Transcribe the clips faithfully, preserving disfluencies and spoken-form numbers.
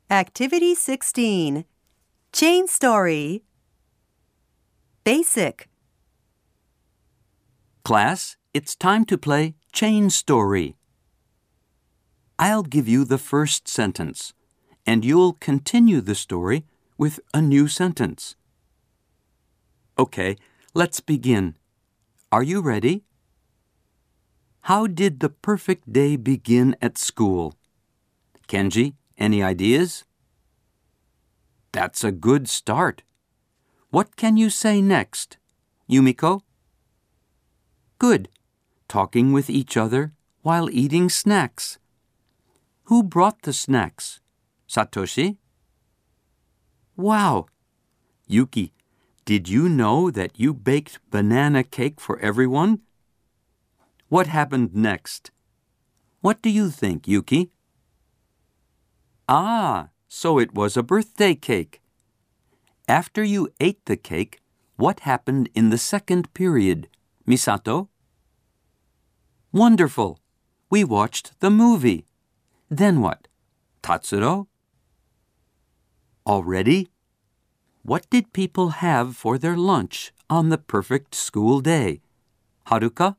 Activity sixteen. Chain story. Basic. Class, it's time to play Chain Story. I'll give you the first sentence, and you'll continue the story with a new sentence. Okay, let's begin. Are you ready? How did the perfect day begin at school? Kenji, any ideas? That's a good start. What can you say next? Yumiko? Good. Talking with each other while eating snacks. Who brought the snacks? Satoshi? Wow! Yuki, did you know that you baked banana cake for everyone? What happened next? What do you think, Yuki? Ah, so it was a birthday cake. After you ate the cake, what happened in the second period, Misato? Wonderful! We watched the movie. Then what? Tatsuro? Already? What did people have for their lunch on the perfect school day? Haruka?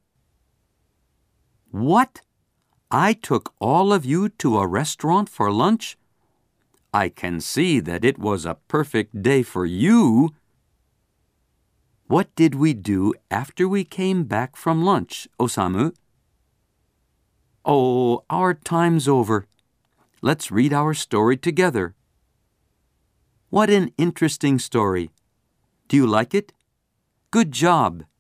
What? I took all of you to a restaurant for lunch? I can see that it was a perfect day for you. What did we do after we came back from lunch, Osamu? Oh, our time's over. Let's read our story together. What an interesting story. Do you like it? Good job.